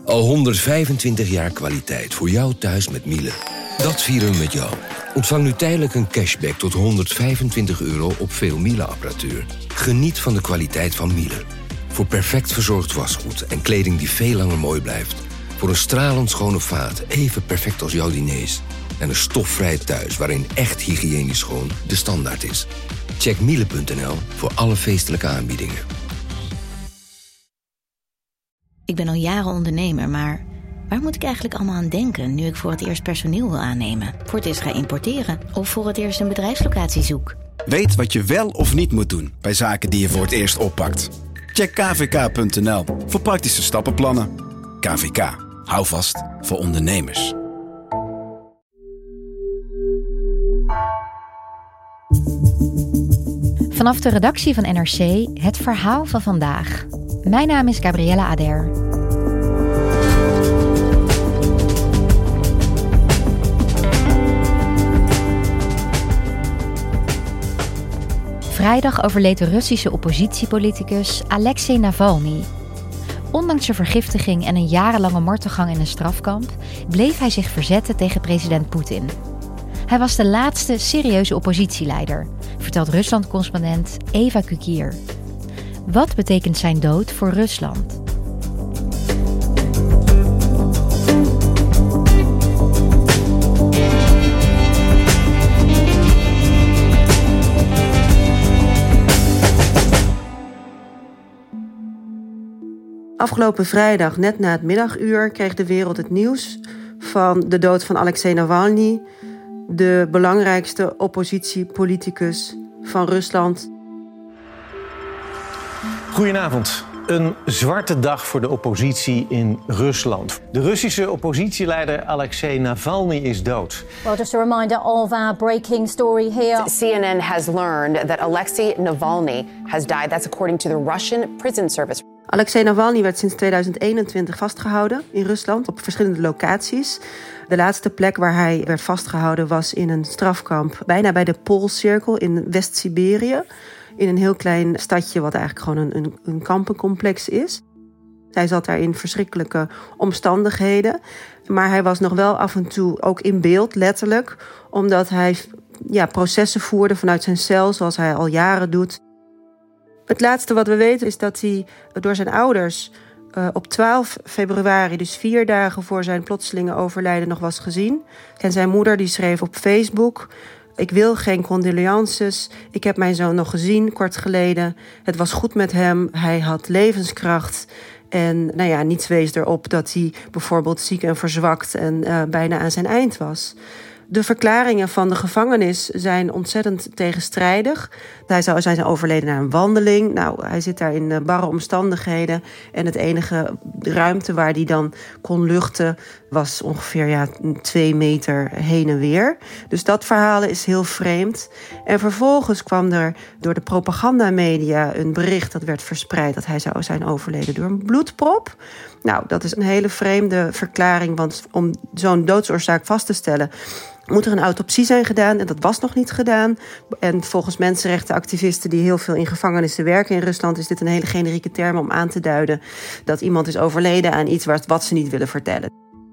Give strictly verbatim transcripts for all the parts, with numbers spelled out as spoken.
Al honderdvijfentwintig jaar kwaliteit voor jou thuis met Miele. Dat vieren we met jou. Ontvang nu tijdelijk een cashback tot honderdvijfentwintig euro op veel Miele-apparatuur. Geniet van de kwaliteit van Miele. Voor perfect verzorgd wasgoed en kleding die veel langer mooi blijft. Voor een stralend schone vaat, even perfect als jouw diners. En een stofvrij thuis waarin echt hygiënisch schoon de standaard is. Check miele punt n l voor alle feestelijke aanbiedingen. Ik ben al jaren ondernemer, maar waar moet ik eigenlijk allemaal aan denken nu ik voor het eerst personeel wil aannemen, voor het eerst ga importeren of voor het eerst een bedrijfslocatie zoek? Weet wat je wel of niet moet doen bij zaken die je voor het eerst oppakt. Check k v k punt n l voor praktische stappenplannen. K V K, hou vast voor ondernemers. Vanaf de redactie van N R C het verhaal van vandaag. Mijn naam is Gabriella Ader. Vrijdag overleed de Russische oppositiepoliticus Alexei Navalny. Ondanks zijn vergiftiging en een jarenlange martelgang in een strafkamp bleef hij zich verzetten tegen president Poetin. Hij was de laatste serieuze oppositieleider, vertelt Rusland-correspondent Eva Kukier. Wat betekent zijn dood voor Rusland? Afgelopen vrijdag, net na het middaguur, kreeg de wereld het nieuws van de dood van Alexei Navalny, de belangrijkste oppositiepoliticus van Rusland. Goedenavond. Een zwarte dag voor de oppositie in Rusland. De Russische oppositieleider Alexei Navalny is dood. Well, just a reminder of our breaking story here. C N N has learned that Alexei Navalny has died. That's according to the Russian prison service. Alexei Navalny werd sinds tweeduizend eenentwintig vastgehouden in Rusland op verschillende locaties. De laatste plek waar hij werd vastgehouden was in een strafkamp bijna bij de Poolcirkel in West-Siberië. In een heel klein stadje wat eigenlijk gewoon een, een, een kampencomplex is. Hij zat daar in verschrikkelijke omstandigheden. Maar hij was nog wel af en toe ook in beeld, letterlijk. Omdat hij ja, processen voerde vanuit zijn cel, zoals hij al jaren doet. Het laatste wat we weten is dat hij door zijn ouders uh, op twaalf februari, dus vier dagen voor zijn plotselinge overlijden, nog was gezien. En zijn moeder die schreef op Facebook: ik wil geen condolences. Ik heb mijn zoon nog gezien kort geleden. Het was goed met hem. Hij had levenskracht. En nou ja, niets wees erop dat hij bijvoorbeeld ziek en verzwakt en uh, bijna aan zijn eind was. De verklaringen van de gevangenis zijn ontzettend tegenstrijdig. Hij zou zijn overleden na een wandeling. Nou, hij zit daar in barre omstandigheden. En het enige ruimte waar hij dan kon luchten was ongeveer ja, twee meter heen en weer. Dus dat verhaal is heel vreemd. En vervolgens kwam er door de propagandamedia een bericht dat werd verspreid dat hij zou zijn overleden door een bloedprop. Nou, dat is een hele vreemde verklaring, want om zo'n doodsoorzaak vast te stellen moet er een autopsie zijn gedaan en dat was nog niet gedaan. En volgens mensenrechtenactivisten die heel veel in gevangenissen werken in Rusland is dit een hele generieke term om aan te duiden dat iemand is overleden aan iets wat ze niet willen vertellen.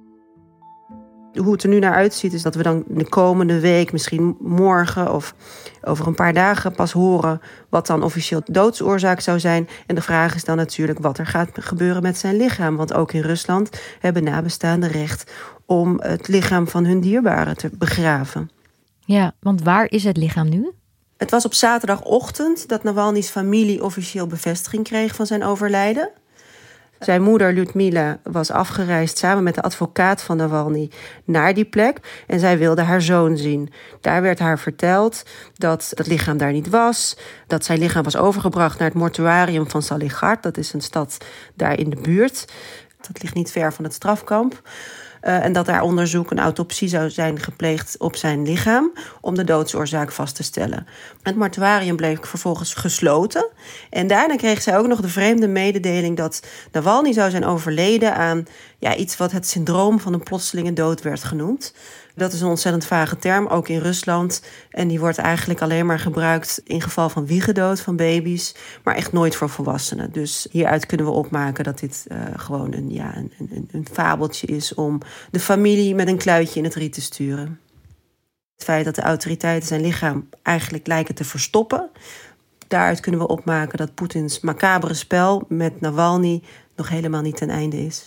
Hoe het er nu naar uitziet is dat we dan de komende week, misschien morgen of over een paar dagen pas horen wat dan officieel doodsoorzaak zou zijn. En de vraag is dan natuurlijk wat er gaat gebeuren met zijn lichaam. Want ook in Rusland hebben nabestaanden recht om het lichaam van hun dierbaren te begraven. Ja, want waar is het lichaam nu? Het was op zaterdagochtend dat Navalny's familie officieel bevestiging kreeg van zijn overlijden. Zijn moeder Lyudmila was afgereisd samen met de advocaat van Navalny naar die plek. En zij wilde haar zoon zien. Daar werd haar verteld dat het lichaam daar niet was. Dat zijn lichaam was overgebracht naar het mortuarium van Saligard. Dat is een stad daar in de buurt. Dat ligt niet ver van het strafkamp. Uh, en dat daar onderzoek, een autopsie zou zijn gepleegd op zijn lichaam om de doodsoorzaak vast te stellen. Het mortuarium bleef vervolgens gesloten. En daarna kreeg zij ook nog de vreemde mededeling dat Navalny zou zijn overleden aan ja, iets wat het syndroom van een plotselinge dood werd genoemd. Dat is een ontzettend vage term, ook in Rusland. En die wordt eigenlijk alleen maar gebruikt in geval van wiegendood van baby's, maar echt nooit voor volwassenen. Dus hieruit kunnen we opmaken dat dit uh, gewoon een, ja, een, een, een fabeltje is om de familie met een kluitje in het riet te sturen. Het feit dat de autoriteiten zijn lichaam eigenlijk lijken te verstoppen, daaruit kunnen we opmaken dat Poetins macabere spel met Navalny nog helemaal niet ten einde is.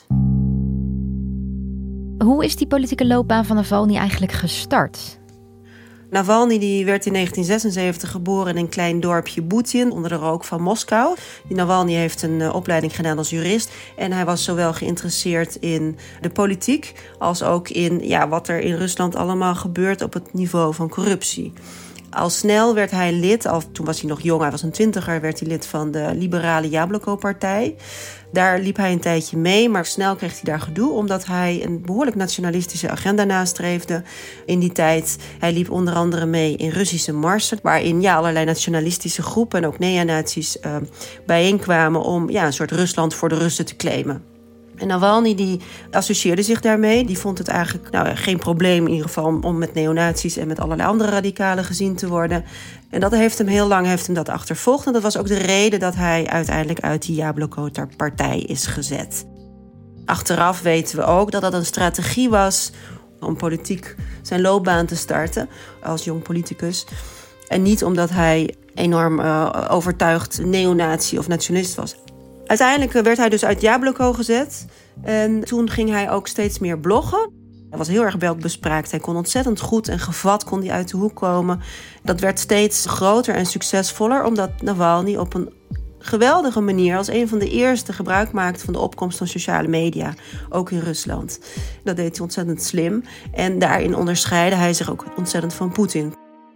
Hoe is die politieke loopbaan van Navalny eigenlijk gestart? Navalny die werd in negentien zesenzeventig geboren in een klein dorpje Butin onder de rook van Moskou. Die Navalny heeft een uh, opleiding gedaan als jurist. En hij was zowel geïnteresseerd in de politiek als ook in ja, wat er in Rusland allemaal gebeurt op het niveau van corruptie. Al snel werd hij lid, al toen was hij nog jong, hij was een twintiger, werd hij lid van de liberale Jabloko-partij. Daar liep hij een tijdje mee, maar snel kreeg hij daar gedoe, omdat hij een behoorlijk nationalistische agenda nastreefde in die tijd. Hij liep onder andere mee in Russische marsen, waarin ja, allerlei nationalistische groepen en ook neonazies uh, bijeenkwamen om ja, een soort Rusland voor de Russen te claimen. En Navalny die associeerde zich daarmee. Die vond het eigenlijk nou, geen probleem in ieder geval om met neonazies en met allerlei andere radicalen gezien te worden. En dat heeft hem heel lang heeft hem dat achtervolgd. En dat was ook de reden dat hij uiteindelijk uit die Jabloko-partij is gezet. Achteraf weten we ook dat dat een strategie was om politiek zijn loopbaan te starten als jong politicus. En niet omdat hij enorm uh, overtuigd neonazi of nationalist was. Uiteindelijk werd hij dus uit Jabloko gezet. En toen ging hij ook steeds meer bloggen. Hij was heel erg welbespraakt. Hij kon ontzettend goed en gevat kon hij uit de hoek komen. Dat werd steeds groter en succesvoller, omdat Navalny op een geweldige manier als een van de eerste gebruik maakte van de opkomst van sociale media, ook in Rusland. Dat deed hij ontzettend slim. En daarin onderscheidde hij zich ook ontzettend van Poetin.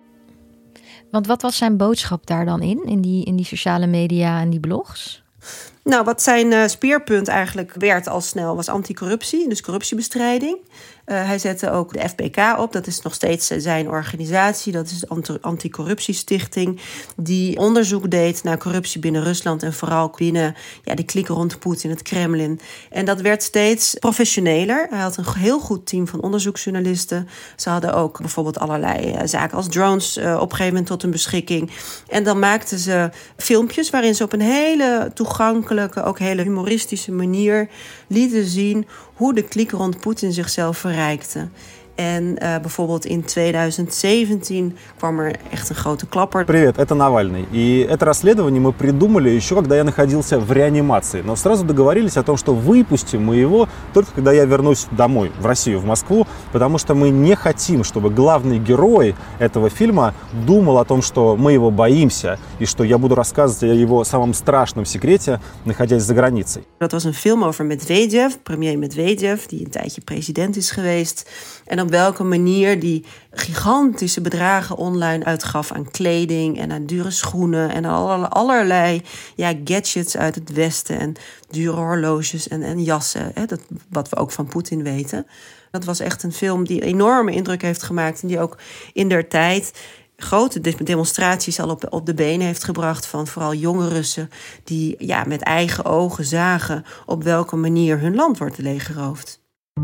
Want wat was zijn boodschap daar dan in, in die, in die sociale media en die blogs? Nou, wat zijn uh, speerpunt eigenlijk werd al snel was anticorruptie, dus corruptiebestrijding. Uh, hij zette ook de F B K op, dat is nog steeds uh, zijn organisatie. Dat is de Anticorruptiestichting, die onderzoek deed naar corruptie binnen Rusland en vooral binnen ja, de kliek rond Poetin, het Kremlin. En dat werd steeds professioneler. Hij had een heel goed team van onderzoeksjournalisten. Ze hadden ook bijvoorbeeld allerlei uh, zaken als drones uh, op een gegeven moment tot hun beschikking. En dan maakten ze filmpjes waarin ze op een hele toegankelijke, ook hele humoristische manier lieten zien hoe de kliek rond Poetin zichzelf verrijkte. En uh, bijvoorbeeld in tweeduizend zeventien kwam er echt een grote klapper. Привет, это Навальный. И это расследование мы придумали еще, когда я находился в реанимации. Но сразу договорились о том, что выпустим мы его только когда я вернусь домой, в Россию, в Москву, потому что мы не хотим, чтобы главный герой этого фильма думал о том, что мы его боимся, и что я буду рассказывать о его самом страшном секрете, находясь за границей. Dat was een film over Medvedev, premier Medvedev, die een tijdje president is geweest. En op welke manier die gigantische bedragen online uitgaf aan kleding en aan dure schoenen en allerlei ja, gadgets uit het Westen en dure horloges en, en jassen, hè, dat, wat we ook van Poetin weten. Dat was echt een film die enorme indruk heeft gemaakt en die ook in der tijd grote demonstraties al op, op de benen heeft gebracht van vooral jonge Russen die ja, met eigen ogen zagen op welke manier hun land wordt leeggeroofd.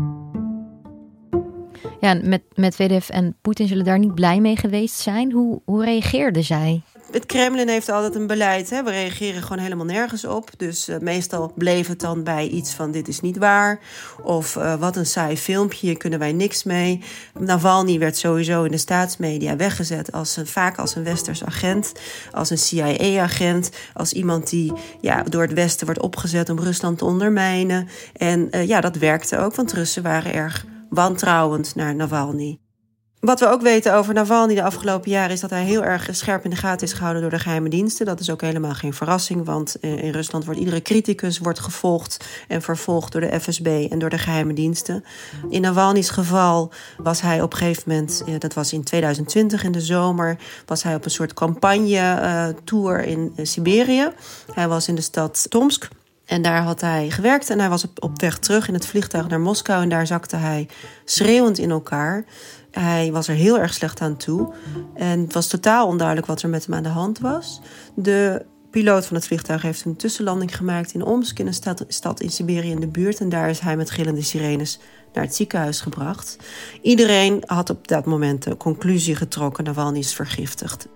Ja, met Medvedev en Poetin zullen daar niet blij mee geweest zijn. Hoe, hoe reageerden zij? Het Kremlin heeft altijd een beleid. Hè? We reageren gewoon helemaal nergens op. Dus uh, meestal bleef het dan bij iets van dit is niet waar. Of uh, wat een saai filmpje, hier kunnen wij niks mee. Navalny werd sowieso in de staatsmedia weggezet als een, vaak als een westers agent. Als een C I A-agent. Als iemand die ja, door het Westen wordt opgezet om Rusland te ondermijnen. En uh, ja, dat werkte ook, want Russen waren erg wantrouwend naar Navalny. Wat we ook weten over Navalny de afgelopen jaren is dat hij heel erg scherp in de gaten is gehouden door de geheime diensten. Dat is ook helemaal geen verrassing, want in Rusland wordt iedere criticus wordt gevolgd en vervolgd door de F S B en door de geheime diensten. In Navalny's geval was hij op een gegeven moment, dat was in tweeduizend twintig in de zomer, was hij op een soort campagne-tour in Siberië. Hij was in de stad Tomsk. En daar had hij gewerkt en hij was op, op weg terug in het vliegtuig naar Moskou. En daar zakte hij schreeuwend in elkaar. Hij was er heel erg slecht aan toe. En het was totaal onduidelijk wat er met hem aan de hand was. De piloot van het vliegtuig heeft een tussenlanding gemaakt in Omsk, in een stad, stad in Siberië in de buurt. En daar is hij met gillende sirenes naar het ziekenhuis gebracht. Iedereen had op dat moment de conclusie getrokken: Navalny is vergiftigd.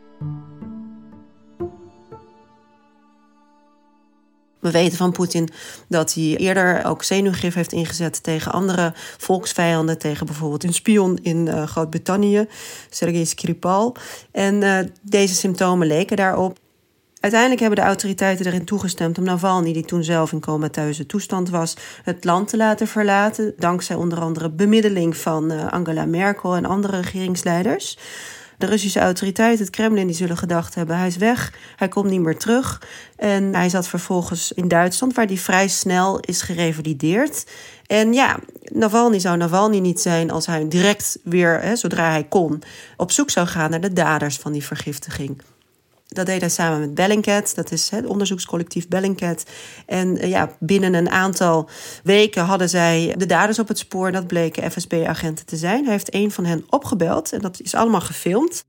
We weten van Poetin dat hij eerder ook zenuwgif heeft ingezet tegen andere volksvijanden. Tegen bijvoorbeeld een spion in uh, Groot-Brittannië, Sergei Skripal. En uh, deze symptomen leken daarop. Uiteindelijk hebben de autoriteiten erin toegestemd om Navalny, die toen zelf in comateuze toestand was, het land te laten verlaten. Dankzij onder andere bemiddeling van uh, Angela Merkel en andere regeringsleiders. De Russische autoriteiten, het Kremlin, die zullen gedacht hebben: hij is weg, hij komt niet meer terug. En hij zat vervolgens in Duitsland, waar hij vrij snel is gerevalideerd. En ja, Navalny zou Navalny niet zijn als hij direct weer, hè, zodra hij kon, op zoek zou gaan naar de daders van die vergiftiging. Dat deed hij samen met Bellingcat, dat is het onderzoekscollectief Bellingcat. En uh, ja, binnen een aantal weken hadden zij de daders op het spoor. Dat bleken F S B-agenten te zijn. Hij heeft een van hen opgebeld en dat is allemaal gefilmd.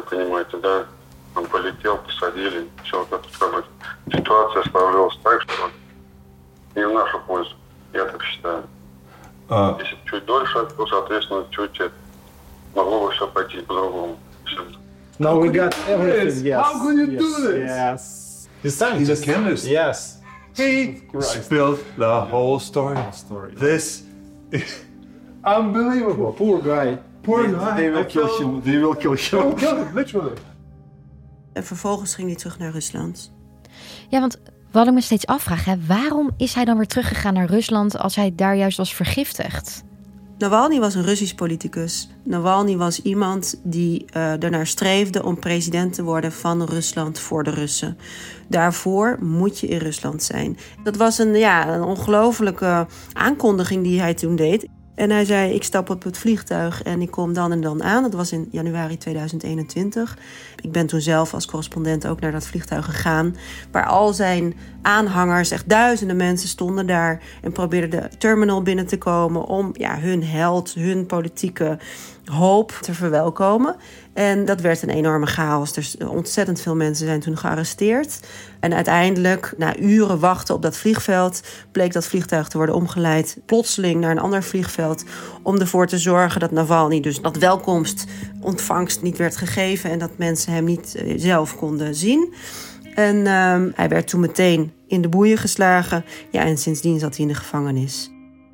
No, we got everything. Yes. How could you yes. do this? Yes. He's scientist. He's a chemist. Yes. He spilled the whole story. story. This is unbelievable. Poor guy. Poor they, guy. They will I kill feel... him. They will kill him. They will kill him, literally. En vervolgens ging hij terug naar Rusland. Ja, want wat ik me steeds afvraag, hè, waarom is hij dan weer teruggegaan naar Rusland als hij daar juist was vergiftigd? Navalny was een Russisch politicus. Navalny was iemand die uh, ernaar streefde om president te worden van Rusland voor de Russen. Daarvoor moet je in Rusland zijn. Dat was een, ja, een ongelofelijke aankondiging die hij toen deed. En hij zei: ik stap op het vliegtuig en ik kom dan en dan aan. Dat was in januari tweeduizend eenentwintig. Ik ben toen zelf als correspondent ook naar dat vliegtuig gegaan, waar al zijn aanhangers, echt duizenden mensen, stonden daar en probeerden de terminal binnen te komen om ja, hun held, hun politieke hoop te verwelkomen. En dat werd een enorme chaos. Dus ontzettend veel mensen zijn toen gearresteerd. En uiteindelijk, na uren wachten op dat vliegveld, bleek dat vliegtuig te worden omgeleid plotseling naar een ander vliegveld, om ervoor te zorgen dat Navalny dus dat welkomst, ontvangst niet werd gegeven en dat mensen hem niet uh, zelf konden zien. En uh, hij werd toen meteen in de boeien geslagen. Ja, en sindsdien zat hij in de gevangenis.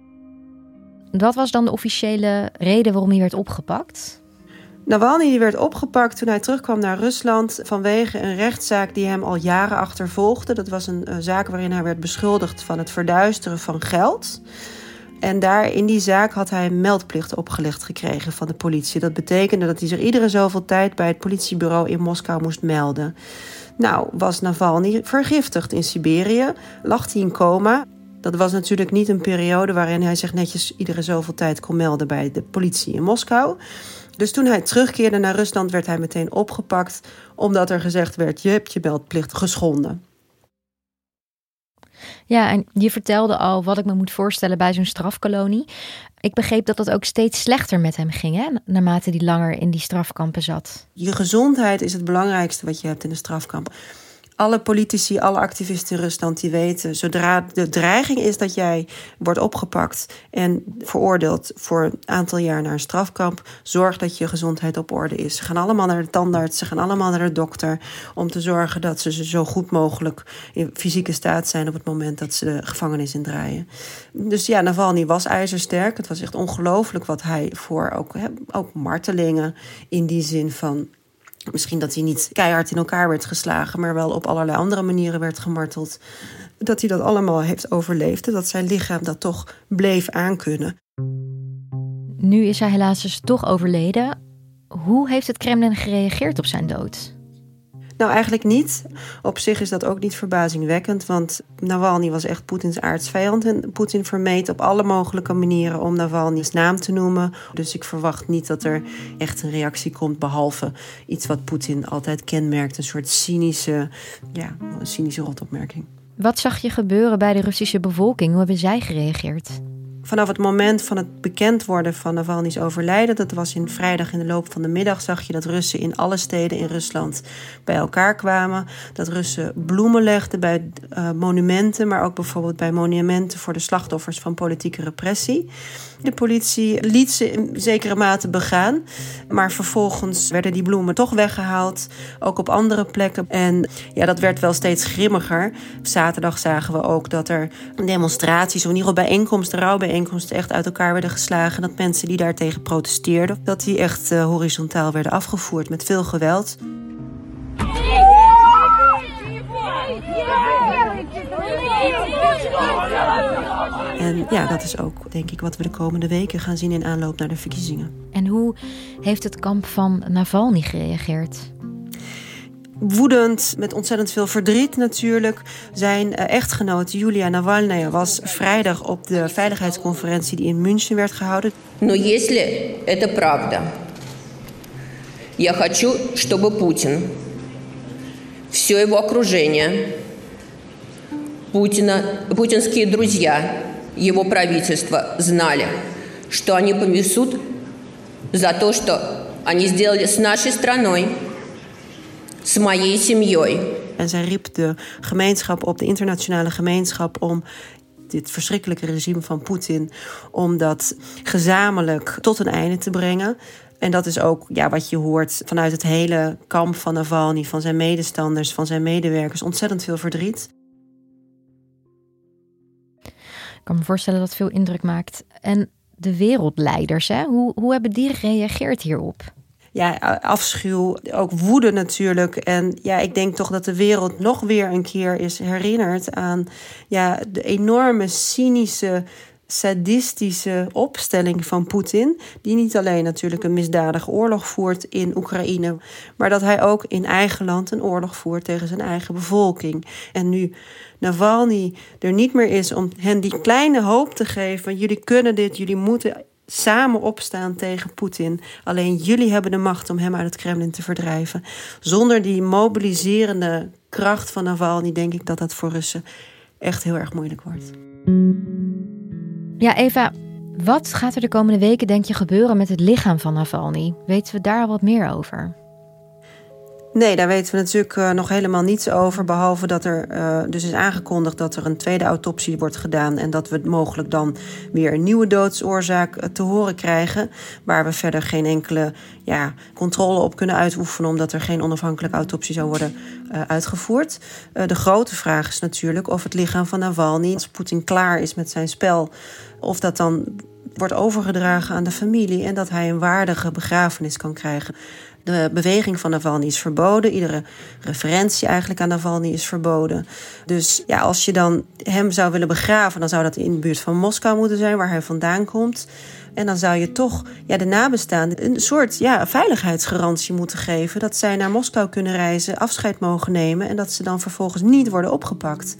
Wat was dan de officiële reden waarom hij werd opgepakt? Navalny werd opgepakt toen hij terugkwam naar Rusland vanwege een rechtszaak die hem al jaren achtervolgde. Dat was een, een zaak waarin hij werd beschuldigd van het verduisteren van geld. En daar in die zaak had hij een meldplicht opgelegd gekregen van de politie. Dat betekende dat hij zich iedere zoveel tijd bij het politiebureau in Moskou moest melden. Nou, was Navalny vergiftigd in Siberië, lag hij in coma. Dat was natuurlijk niet een periode waarin hij zich netjes iedere zoveel tijd kon melden bij de politie in Moskou. Dus toen hij terugkeerde naar Rusland werd hij meteen opgepakt, omdat er gezegd werd: je hebt je meldplicht geschonden. Ja, en je vertelde al wat ik me moet voorstellen bij zo'n strafkolonie. Ik begreep dat het ook steeds slechter met hem ging, hè, naarmate hij langer in die strafkampen zat. Je gezondheid is het belangrijkste wat je hebt in een strafkamp. Alle politici, alle activisten in Rusland die weten, zodra de dreiging is dat jij wordt opgepakt en veroordeeld voor een aantal jaar naar een strafkamp, zorg dat je gezondheid op orde is. Ze gaan allemaal naar de tandarts, ze gaan allemaal naar de dokter om te zorgen dat ze zo goed mogelijk in fysieke staat zijn op het moment dat ze de gevangenis indraaien. Dus ja, Navalny was ijzersterk. Het was echt ongelooflijk wat hij voor ook, hè, ook martelingen in die zin van, misschien dat hij niet keihard in elkaar werd geslagen, maar wel op allerlei andere manieren werd gemarteld, dat hij dat allemaal heeft overleefd en dat zijn lichaam dat toch bleef aankunnen. Nu is hij helaas dus toch overleden. Hoe heeft het Kremlin gereageerd op zijn dood? Nou, eigenlijk niet. Op zich is dat ook niet verbazingwekkend, want Navalny was echt Poetins aardsvijand en Poetin vermeed op alle mogelijke manieren om Navalny's naam te noemen. Dus ik verwacht niet dat er echt een reactie komt, behalve iets wat Poetin altijd kenmerkt, een soort cynische, ja, een cynische rotopmerking. Wat zag je gebeuren bij de Russische bevolking? Hoe hebben zij gereageerd? Vanaf het moment van het bekend worden van Navalny's overlijden, dat was in vrijdag in de loop van de middag, zag je dat Russen in alle steden in Rusland bij elkaar kwamen. Dat Russen bloemen legden bij uh, monumenten, maar ook bijvoorbeeld bij monumenten voor de slachtoffers van politieke repressie. De politie liet ze in zekere mate begaan, maar vervolgens werden die bloemen toch weggehaald, ook op andere plekken. En ja, dat werd wel steeds grimmiger. Zaterdag zagen we ook dat er demonstraties, of in ieder geval bijeenkomsten, rouwbijeenkomsten, echt uit elkaar werden geslagen. Dat mensen die daartegen protesteerden, dat die echt uh, horizontaal werden afgevoerd met veel geweld. En ja, dat is ook, denk ik, wat we de komende weken gaan zien in aanloop naar de verkiezingen. En hoe heeft het kamp van Navalny gereageerd? Woedend, met ontzettend veel verdriet natuurlijk. Zijn echtgenoot Julia Navalnaya was vrijdag op de veiligheidsconferentie die in München werd gehouden. Но если это правда, я хочу, чтобы Путин, все его окружение, Путина, путинские друзья, его правительство знали, что они понесут за то, что они сделали с нашей страной, с моей семьей. En zij riep de gemeenschap op, de internationale gemeenschap, om dit verschrikkelijke regime van Poetin, om dat gezamenlijk tot een einde te brengen. En dat is ook ja, wat je hoort vanuit het hele kamp van Navalny, van zijn medestanders, van zijn medewerkers. Ontzettend veel verdriet. Ik kan me voorstellen dat het veel indruk maakt. En de wereldleiders, hè? Hoe, hoe hebben die gereageerd hierop? Ja, afschuw, ook woede natuurlijk. En ja, ik denk toch dat de wereld nog weer een keer is herinnerd aan ja, de enorme cynische, sadistische opstelling van Poetin, die niet alleen natuurlijk een misdadige oorlog voert in Oekraïne, maar dat hij ook in eigen land een oorlog voert tegen zijn eigen bevolking. En nu Navalny er niet meer is om hen die kleine hoop te geven, jullie kunnen dit, jullie moeten samen opstaan tegen Poetin. Alleen jullie hebben de macht om hem uit het Kremlin te verdrijven. Zonder die mobiliserende kracht van Navalny denk ik dat dat voor Russen echt heel erg moeilijk wordt. Ja, Eva, wat gaat er de komende weken, denk je, gebeuren met het lichaam van Navalny? Weten we daar al wat meer over? Nee, daar weten we natuurlijk uh, nog helemaal niets over. Behalve dat er uh, dus is aangekondigd dat er een tweede autopsie wordt gedaan. En dat we mogelijk dan weer een nieuwe doodsoorzaak uh, te horen krijgen. Waar we verder geen enkele ja, controle op kunnen uitoefenen, omdat er geen onafhankelijke autopsie zou worden uh, uitgevoerd. Uh, de grote vraag is natuurlijk of het lichaam van Navalny, als Poetin klaar is met zijn spel, of dat dan wordt overgedragen aan de familie en dat hij een waardige begrafenis kan krijgen. De beweging van Navalny is verboden. Iedere referentie eigenlijk aan Navalny is verboden. Dus ja, als je dan hem zou willen begraven, dan zou dat in de buurt van Moskou moeten zijn, waar hij vandaan komt. En dan zou je toch ja, de nabestaanden een soort ja, veiligheidsgarantie moeten geven, dat zij naar Moskou kunnen reizen, afscheid mogen nemen en dat ze dan vervolgens niet worden opgepakt.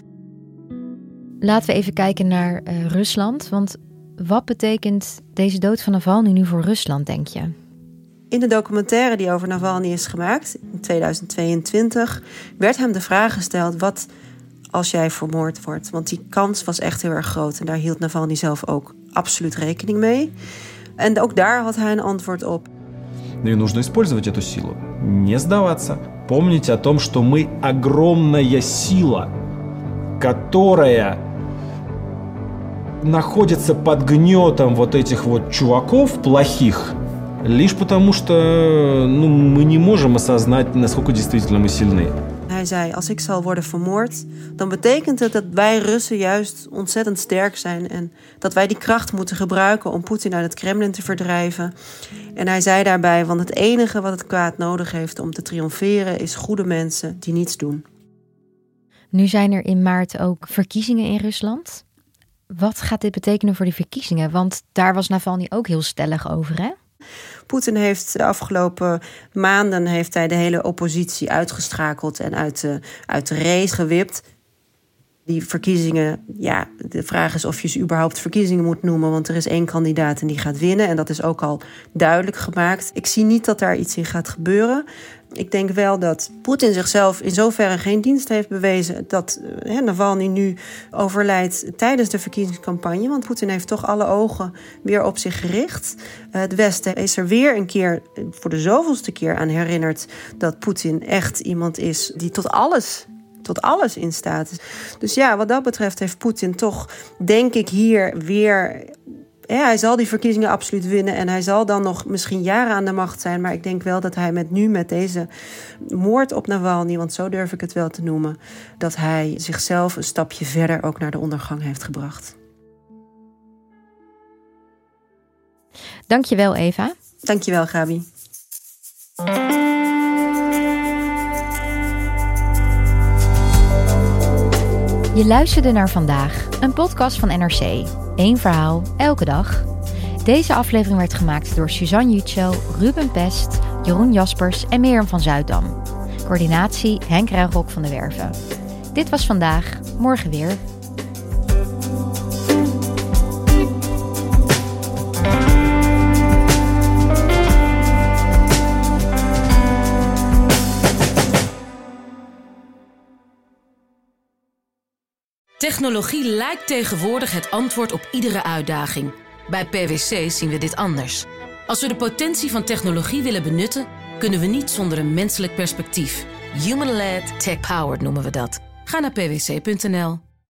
Laten we even kijken naar uh, Rusland. Want wat betekent deze dood van Navalny nu voor Rusland, denk je? In de documentaire die over Navalny is gemaakt, in tweeduizend tweeëntwintig, werd hem de vraag gesteld, wat als jij vermoord wordt? Want die kans was echt heel erg groot en daar hield Navalny zelf ook absoluut rekening mee. En ook daar had hij een antwoord op. Ну и нужно использовать эту силу. Не сдаваться. Помните о том, что мы огромная сила, которая находится под гнетом вот этих вот чуваков плохих. Лишь потому что ну, мы не можем осознать, насколько действительно мы сильны. Hij zei, als ik zal worden vermoord, dan betekent het dat wij Russen juist ontzettend sterk zijn en dat wij die kracht moeten gebruiken om Poetin uit het Kremlin te verdrijven. En hij zei daarbij, want het enige wat het kwaad nodig heeft om te triomferen is goede mensen die niets doen. Nu zijn er in maart ook verkiezingen in Rusland. Wat gaat dit betekenen voor die verkiezingen? Want daar was Navalny ook heel stellig over, hè? Poetin heeft de afgelopen maanden heeft hij de hele oppositie uitgeschakeld en uit de, uit de race gewipt. Die verkiezingen, ja, de vraag is of je ze überhaupt verkiezingen moet noemen, want er is één kandidaat en die gaat winnen. En dat is ook al duidelijk gemaakt. Ik zie niet dat daar iets in gaat gebeuren. Ik denk wel dat Poetin zichzelf in zoverre geen dienst heeft bewezen dat uh, Navalny nu overlijdt tijdens de verkiezingscampagne. Want Poetin heeft toch alle ogen weer op zich gericht. Uh, het Westen is er weer een keer, voor de zoveelste keer aan herinnerd dat Poetin echt iemand is die tot alles... tot alles in staat is. Dus ja, wat dat betreft heeft Poetin toch, denk ik, hier weer... Ja, hij zal die verkiezingen absoluut winnen en hij zal dan nog misschien jaren aan de macht zijn. Maar ik denk wel dat hij met nu, met deze moord op Navalny, want zo durf ik het wel te noemen, dat hij zichzelf een stapje verder ook naar de ondergang heeft gebracht. Dankjewel, Eva. Dankjewel, Gabi. Je luisterde naar Vandaag, een podcast van N R C. Eén verhaal, elke dag. Deze aflevering werd gemaakt door Suzanne Jutschel, Ruben Pest, Jeroen Jaspers en Mirjam van Zuiddam. Coördinatie Henk Ruigrok van de Werven. Dit was Vandaag, morgen weer. Technologie lijkt tegenwoordig het antwoord op iedere uitdaging. Bij P W C zien we dit anders. Als we de potentie van technologie willen benutten, kunnen we niet zonder een menselijk perspectief. Human-led, tech-powered noemen we dat. Ga naar p w c punt n l.